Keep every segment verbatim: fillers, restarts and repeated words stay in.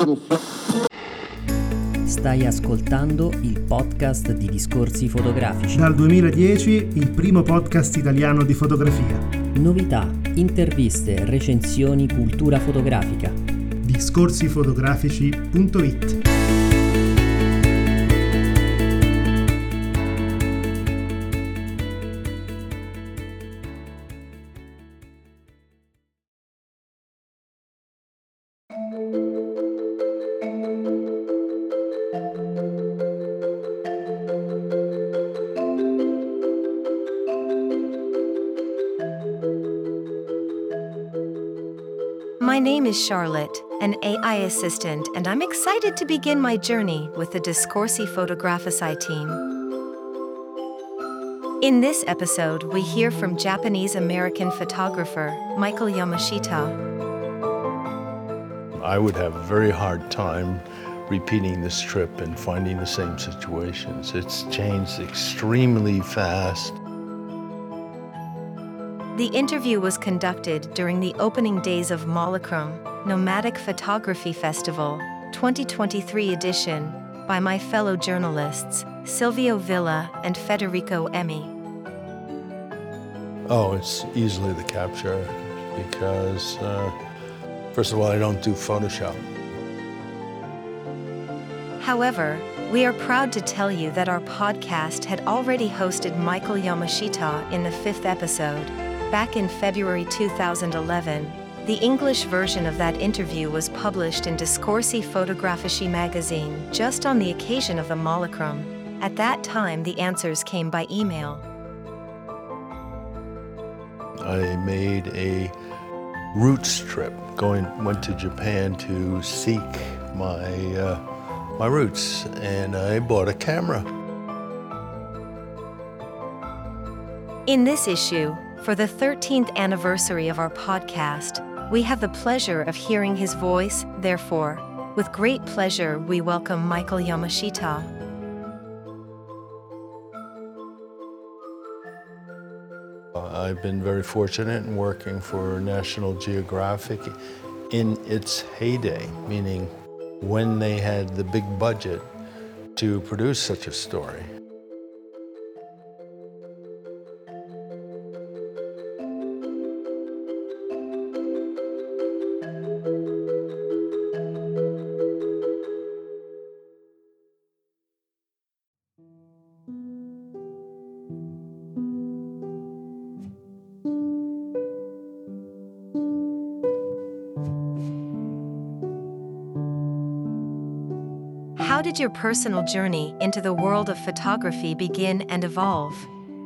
Stai ascoltando il podcast di Discorsi Fotografici. Dal duemiladieci il primo podcast italiano di fotografia. Novità, interviste, recensioni, cultura fotografica. discorsi fotografici punto it. My name is Charlotte, an A I assistant, and I'm excited to begin my journey with the Discorsi Fotografici team. In this episode, we hear from Japanese-American photographer Michael Yamashita. I would have a very hard time repeating this trip and finding the same situations. It's changed extremely fast. The interview was conducted during the opening days of Mollakram, Nomadic Photography Festival, twenty twenty-three edition, by my fellow journalists, Silvio Villa and Federico Emmi. Oh, it's easily the capture because, uh, first of all, I don't do Photoshop. However, we are proud to tell you that our podcast had already hosted Michael Yamashita in the fifth episode. Back in February two thousand eleven, the English version of that interview was published in Discorsi Fotografici magazine just on the occasion of the Mollakram. At that time, the answers came by email. I made a roots trip. Going went to Japan to seek my uh, my roots, and I bought a camera. In this issue, for the thirteenth anniversary of our podcast, we have the pleasure of hearing his voice. Therefore, with great pleasure, we welcome Michael Yamashita. I've been very fortunate in working for National Geographic in its heyday, meaning when they had the big budget to produce such a story. How did your personal journey into the world of photography begin and evolve?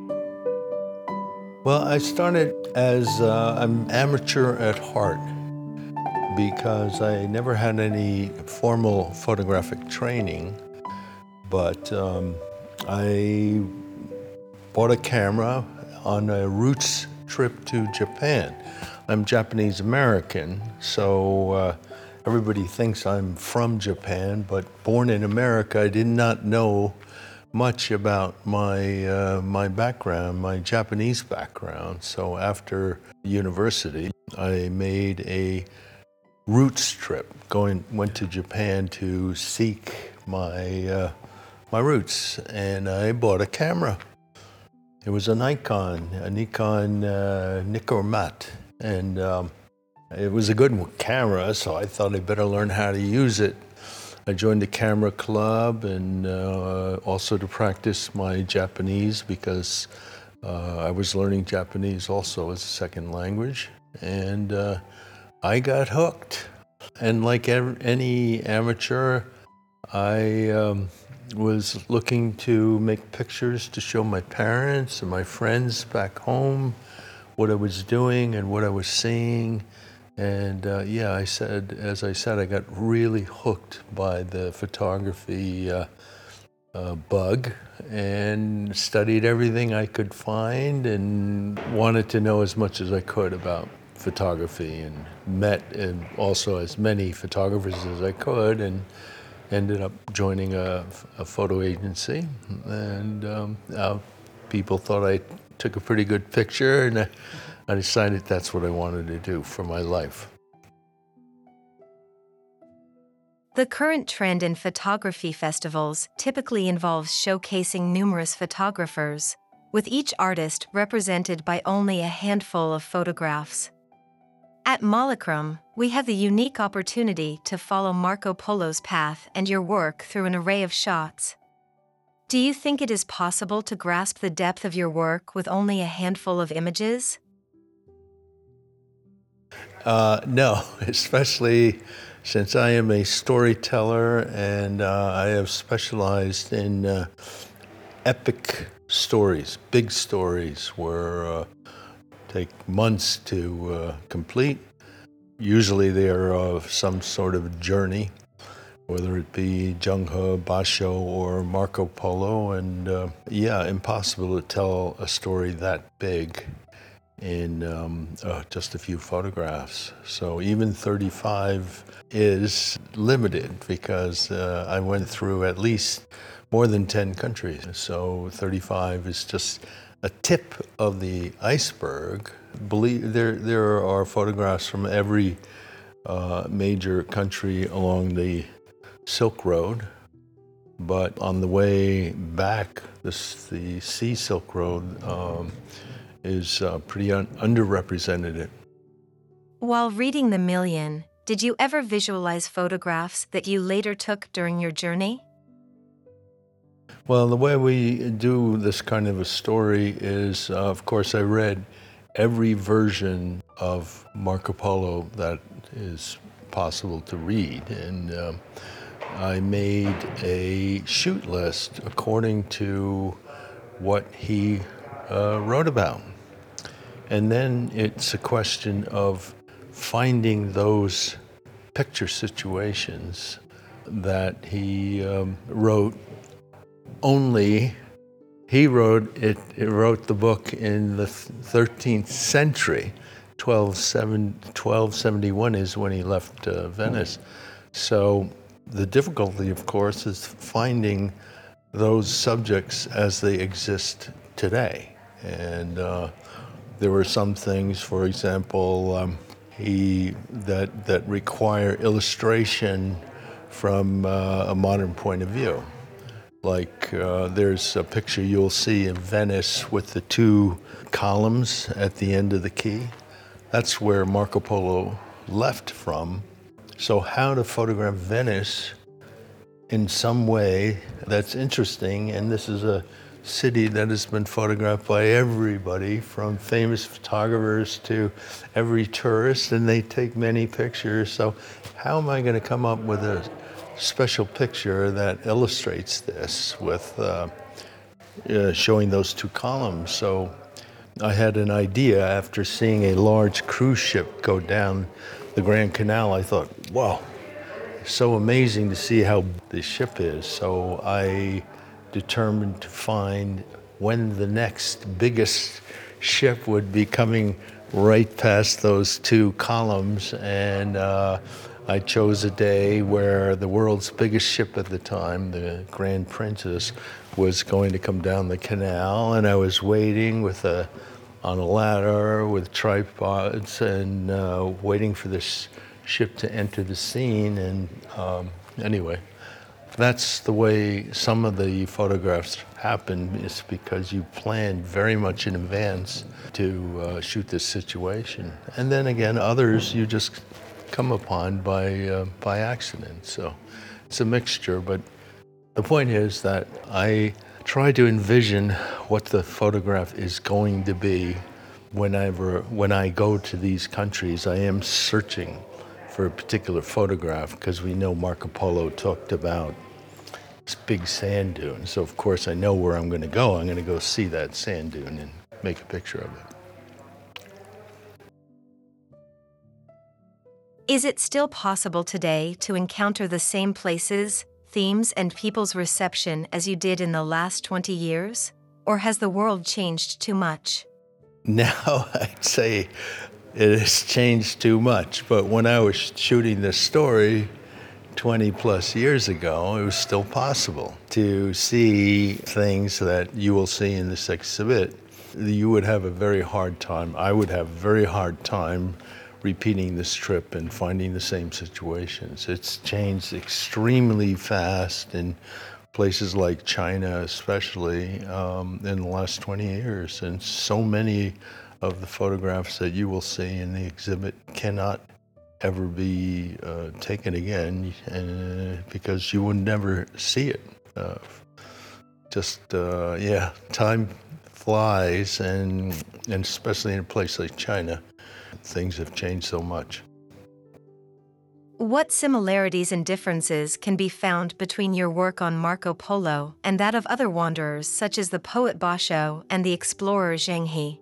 Well, I started as uh, an amateur at heart because I never had any formal photographic training, but um, I bought a camera on a roots trip to Japan. I'm Japanese American, so uh, everybody thinks I'm from Japan, but born in America, I did not know much about my uh, my background, my Japanese background. So after university, I made a roots trip. Going went to Japan to seek my uh, my roots, and I bought a camera. It was a Nikon, a Nikon uh, Nikkormat, and um, it was a good camera, so I thought I'd better learn how to use it. I joined the camera club and uh, also to practice my Japanese because uh, I was learning Japanese also as a second language. And uh, I got hooked. And like ev- any amateur, I um, was looking to make pictures to show my parents and my friends back home what I was doing and what I was seeing. And uh, yeah, I said, as I said, I got really hooked by the photography uh, uh, bug and studied everything I could find and wanted to know as much as I could about photography, and met and also as many photographers as I could, and ended up joining a, a photo agency. And um, uh, people thought I took a pretty good picture, and I, I decided that's what I wanted to do for my life. The current trend in photography festivals typically involves showcasing numerous photographers, with each artist represented by only a handful of photographs. At Mollachrom, we have the unique opportunity to follow Marco Polo's path and your work through an array of shots. Do you think it is possible to grasp the depth of your work with only a handful of images? Uh, no, especially since I am a storyteller and uh, I have specialized in uh, epic stories, big stories where uh, take months to uh, complete. Usually they are of some sort of journey, whether it be Zheng He, Basho, or Marco Polo, and uh, yeah, impossible to tell a story that big in um, uh, just a few photographs. So even thirty-five is limited because uh, I went through at least more than ten countries. So thirty-five is just a tip of the iceberg. Believe there there are photographs from every uh, major country along the Silk Road, but on the way back, this, the Sea Silk Road um, is uh, pretty un- underrepresented. While reading The Million, did you ever visualize photographs that you later took during your journey? Well, the way we do this kind of a story is, uh, of course, I read every version of Marco Polo that is possible to read, and um, I made a shoot list according to what he uh, wrote about. And then it's a question of finding those picture situations that he um, wrote. Only he wrote it, it wrote the book in the thirteenth century. twelve seventy-one is when he left uh, Venice. So the difficulty, of course, is finding those subjects as they exist today. And uh, there were some things, for example, um, he that that require illustration from uh, a modern point of view. Like uh, there's a picture you'll see in Venice with the two columns at the end of the quay. That's where Marco Polo left from. So how to photograph Venice in some way that's interesting, and this is a city that has been photographed by everybody, from famous photographers to every tourist, and they take many pictures. So how am I going to come up with a special picture that illustrates this with uh, uh, showing those two columns? So I had an idea after seeing a large cruise ship go down the Grand Canal. I thought, wow, so amazing to see how the ship is. So I determined to find when the next biggest ship would be coming right past those two columns, and uh, I chose a day where the world's biggest ship at the time, the Grand Princess, was going to come down the canal, and I was waiting with a on a ladder with tripods and uh, waiting for this ship to enter the scene. And um, anyway, that's the way some of the photographs happen, is because you plan very much in advance to uh, shoot this situation. And then again, others you just come upon by uh, by accident. So it's a mixture, but the point is that I try to envision what the photograph is going to be whenever when I go to these countries. I am searching for a particular photograph because we know Marco Polo talked about this big sand dune. So of course I know where I'm going to go. I'm going to go see that sand dune and make a picture of it. Is it still possible today to encounter the same places, themes, and people's reception as you did in the last twenty years? Or has the world changed too much? Now I'd say it has changed too much, but when I was shooting this story twenty plus years ago, it was still possible to see things that you will see in this exhibit. You would have a very hard time, I would have a very hard time repeating this trip and finding the same situations. It's changed extremely fast in places like China, especially um, in the last twenty years. And so many of the photographs that you will see in the exhibit cannot ever be uh, taken again uh, because you would never see it. Uh, just, uh, yeah, time flies, and, and especially in a place like China, things have changed so much. What similarities and differences can be found between your work on Marco Polo and that of other wanderers such as the poet Basho and the explorer Zheng He?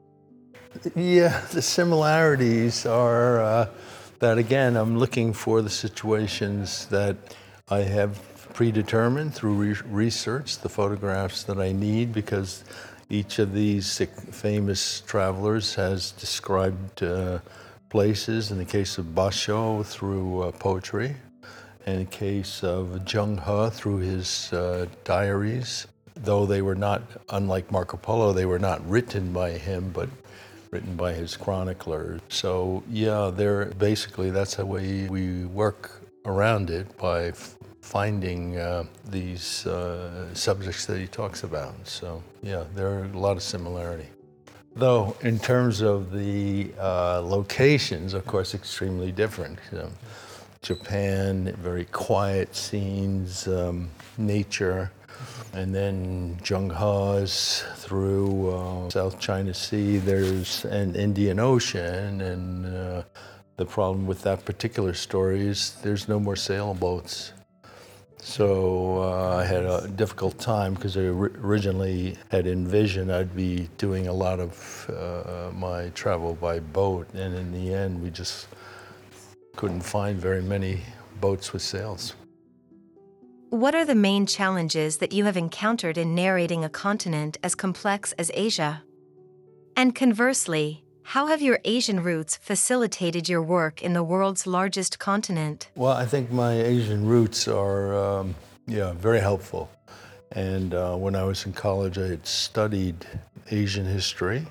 Yeah, the similarities are uh, that, again, I'm looking for the situations that I have predetermined through re- research, the photographs that I need, because each of these famous travelers has described uh, places, in the case of Basho through uh, poetry, in the case of Zheng He through his uh, diaries. Though they were not, unlike Marco Polo, they were not written by him, but written by his chronicler. So yeah, they're basically, that's how we, we work around it, by f- finding uh, these uh, subjects that he talks about. So yeah, there are a lot of similarity. Though in terms of the uh, locations, of course, extremely different. So, Japan, very quiet scenes, um, nature, and then Zheng He's through uh, South China Sea, there's an Indian Ocean, and uh, the problem with that particular story is there's no more sailboats. So uh, I had a difficult time because I originally had envisioned I'd be doing a lot of uh, my travel by boat, and in the end we just couldn't find very many boats with sails. What are the main challenges that you have encountered in narrating a continent as complex as Asia? And conversely, how have your Asian roots facilitated your work in the world's largest continent? Well, I think my Asian roots are, um, yeah, very helpful. And uh, when I was in college, I had studied Asian history,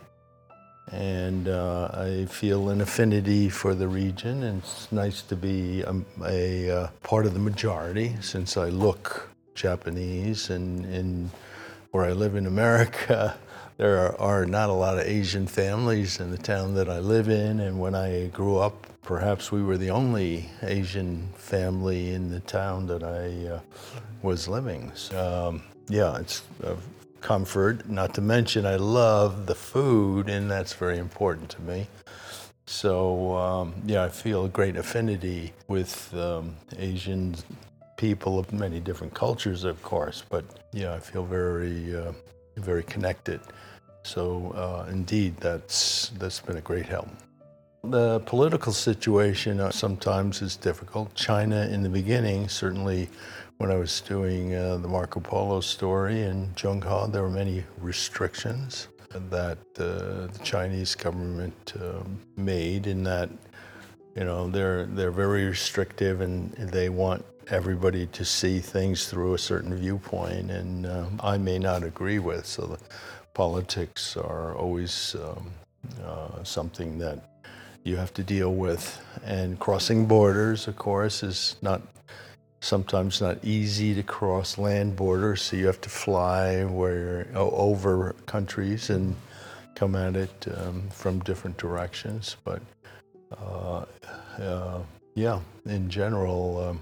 and uh, I feel an affinity for the region, and it's nice to be a, a uh, part of the majority, since I look Japanese, and in where I live in America, there are, are not a lot of Asian families in the town that I live in, and when I grew up, perhaps we were the only Asian family in the town that I uh, was living. So, um, yeah, it's a comfort, not to mention I love the food, and that's very important to me. So, um, yeah, I feel a great affinity with um, Asian people of many different cultures, of course, but yeah, I feel very, uh, very connected. So uh, indeed, that's that's been a great help. The political situation uh, sometimes is difficult. China in the beginning, certainly when I was doing uh, the Marco Polo story in Zheng He, there were many restrictions that uh, the Chinese government uh, made, in that, you know, they're they're very restrictive, and they want everybody to see things through a certain viewpoint, and uh, I may not agree with. So the politics are always um, uh, something that you have to deal with. And crossing borders, of course, is not sometimes not easy to cross land borders, so you have to fly where over countries and come at it um, from different directions. But uh, uh, yeah, in general, um,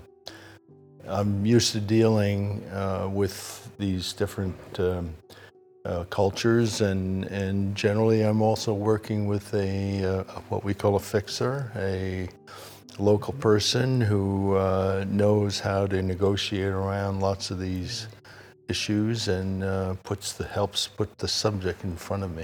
I'm used to dealing uh, with these different um, uh, cultures, and, and generally I'm also working with a uh, what we call a fixer, a local person who uh, knows how to negotiate around lots of these issues, and uh, puts the helps put the subject in front of me.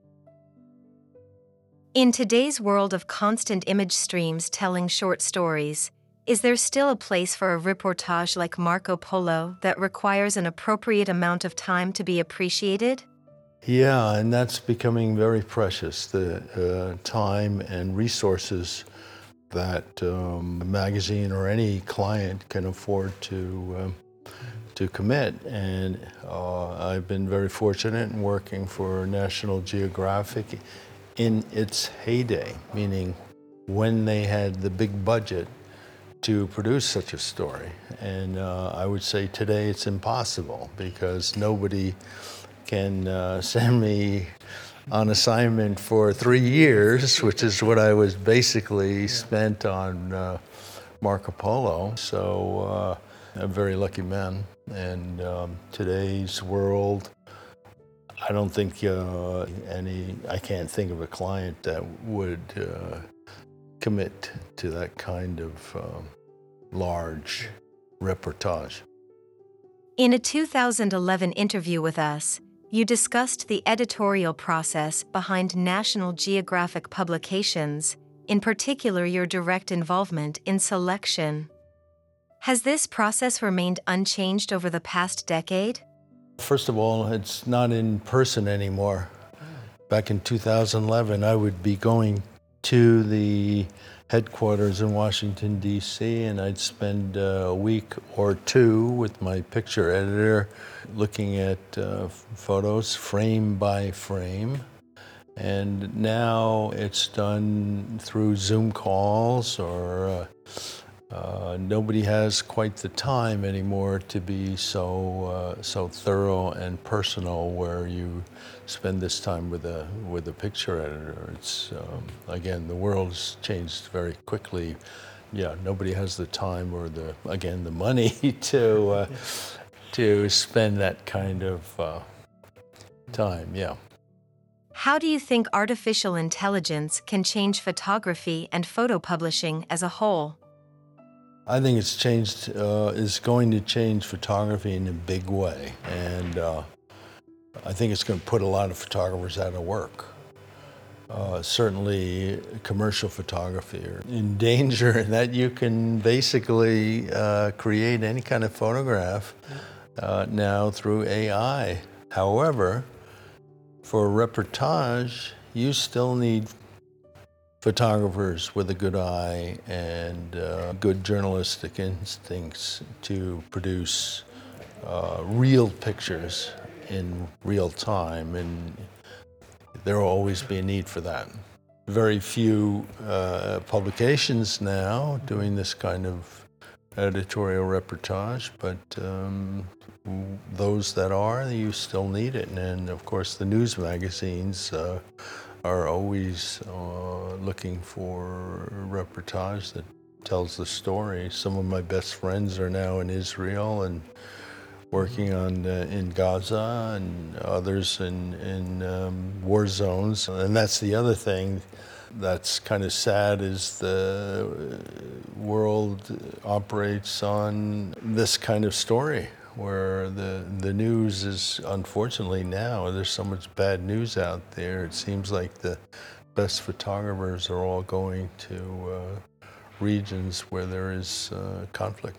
In today's world of constant image streams telling short stories, is there still a place for a reportage like Marco Polo that requires an appropriate amount of time to be appreciated? Yeah, and that's becoming very precious, the uh, time and resources that um, a magazine or any client can afford to um, to commit. And uh, I've been very fortunate in working for National Geographic in its heyday, meaning when they had the big budget to produce such a story. And uh, I would say today it's impossible because nobody can uh, send me on assignment for three years, which is what I was basically spent on uh, Marco Polo. So uh, I'm a very lucky man. And um, today's world, I don't think uh, any, I can't think of a client that would uh, commit to that kind of um, large reportage. In a two thousand eleven interview with us, you discussed the editorial process behind National Geographic publications, in particular your direct involvement in selection. Has this process remained unchanged over the past decade? First of all, it's not in person anymore. Back in two thousand eleven, I would be going to the headquarters in Washington, D C, and I'd spend uh, a week or two with my picture editor looking at uh, photos frame by frame. And now it's done through Zoom calls, or uh, uh, nobody has quite the time anymore to be so uh, so thorough and personal, where you spend this time with a with a picture editor. It's um, again, the world has changed very quickly. Yeah, nobody has the time or the again the money to uh, to spend that kind of uh, time. Yeah. How do you think artificial intelligence can change photography and photo publishing as a whole? I think it's changed, uh, is going to change photography in a big way. And uh, I think it's going to put a lot of photographers out of work. Uh, certainly commercial photography are in danger in that you can basically uh, create any kind of photograph uh, now through A I. However, for reportage, you still need photographers with a good eye and uh, good journalistic instincts to produce uh, real pictures in real time, and there will always be a need for that. Very few uh, publications now doing this kind of editorial reportage, but um, those that are, you still need it. And of course the news magazines uh, are always uh, looking for reportage that tells the story. Some of my best friends are now in Israel and working on uh, in Gaza, and others in, in um, war zones. And that's the other thing that's kind of sad, is the world operates on this kind of story, where the, the news is, unfortunately now, there's so much bad news out there. It seems like the best photographers are all going to uh, regions where there is uh, conflict.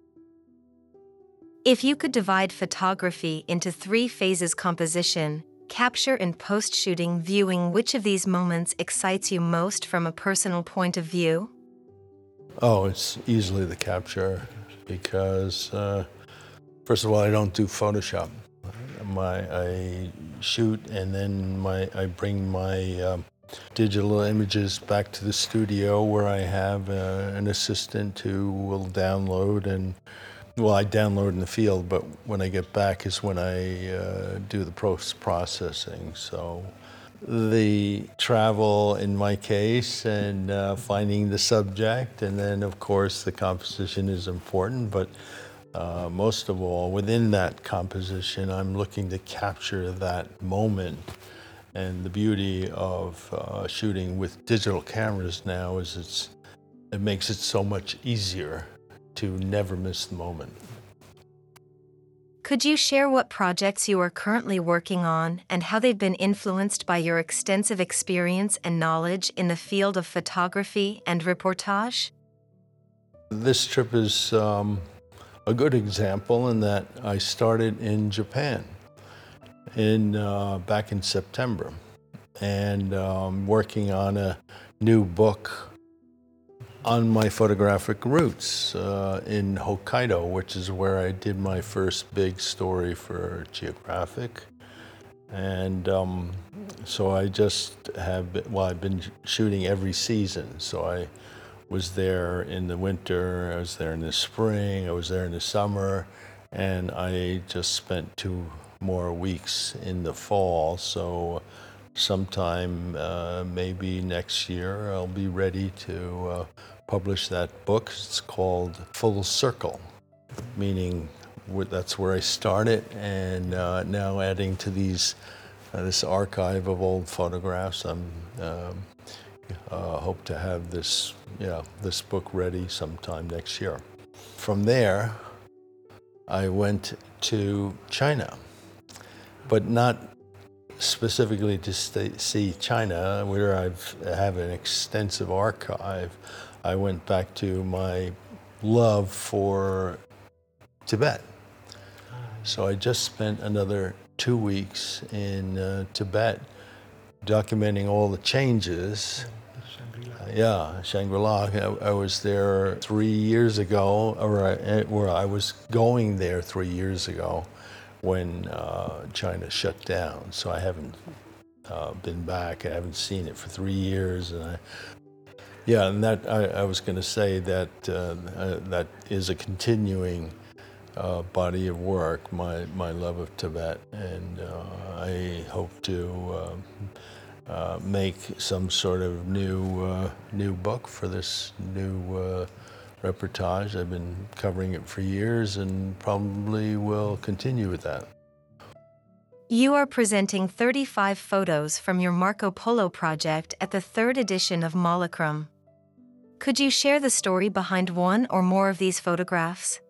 If you could divide photography into three phases: composition, capture, and post-shooting viewing, which of these moments excites you most from a personal point of view? Oh, it's easily the capture, because uh, first of all, I don't do Photoshop. My, I shoot, and then my I bring my um, digital images back to the studio, where I have uh, an assistant who will download, and well, I download in the field, but when I get back is when I uh, do the post-processing. So the travel in my case, and uh, finding the subject, and then of course the composition is important, but uh, most of all, within that composition, I'm looking to capture that moment. And the beauty of uh, shooting with digital cameras now is it's it makes it so much easier to never miss the moment. Could you share what projects you are currently working on and how they've been influenced by your extensive experience and knowledge in the field of photography and reportage? This trip is um, a good example in that I started in Japan in uh, back in September, and um, working on a new book on my photographic roots uh, in Hokkaido, which is where I did my first big story for Geographic. And um, so I just have, been, well, I've been shooting every season. So I was there in the winter, I was there in the spring, I was there in the summer, and I just spent two more weeks in the fall. So sometime uh, maybe next year I'll be ready to uh, publish that book. It's called Full Circle, meaning that's where I started, and uh, now adding to these uh, this archive of old photographs. I'm um, uh, hope to have this yeah this book ready sometime next year. From there, I went to China, but not specifically to stay, see China, where I've have an extensive archive. I went back to my love for Tibet. So I just spent another two weeks in uh, Tibet documenting all the changes. Uh, yeah, Shangri-La. I, I was there three years ago, or I, or I was going there three years ago when uh, China shut down. So I haven't uh, been back. I haven't seen it for three years. And I, yeah, and that I, I was going to say that uh, uh, that is a continuing Uh, body of work, my, my love of Tibet, and uh, I hope to uh, uh, make some sort of new uh, new book for this new uh, reportage. I've been covering it for years and probably will continue with that. You are presenting thirty-five photos from your Marco Polo project at the third edition of Mollachrum. Could you share the story behind one or more of these photographs?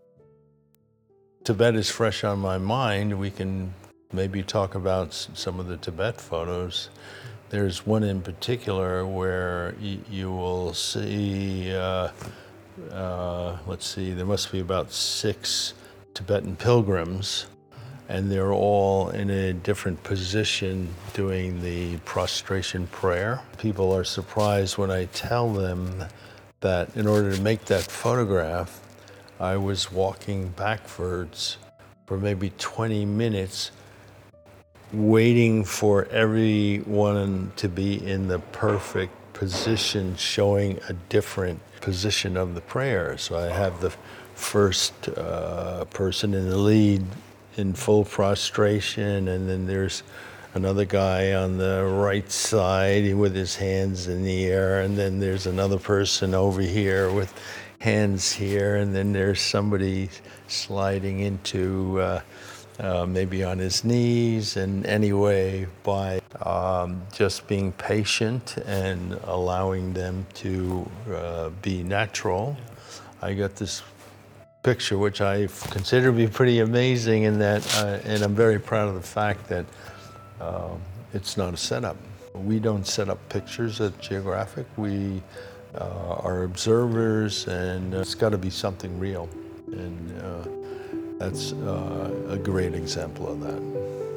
Tibet is fresh on my mind. We can maybe talk about some of the Tibet photos. There's one in particular where y- you will see, uh, uh, let's see, there must be about six Tibetan pilgrims, and they're all in a different position doing the prostration prayer. People are surprised when I tell them that in order to make that photograph, I was walking backwards for maybe twenty minutes, waiting for everyone to be in the perfect position, showing a different position of the prayer. So I have the first uh, person in the lead in full prostration, and then there's another guy on the right side with his hands in the air, and then there's another person over here with hands here, and then there's somebody sliding into uh, uh, maybe on his knees. And anyway, by um, just being patient and allowing them to uh, be natural, I got this picture, which I consider to be pretty amazing, in that, uh, and I'm very proud of the fact that uh, it's not a setup. We don't set up pictures at Geographic. We Uh, are observers, and uh, it's got to be something real, and uh, that's uh, a great example of that.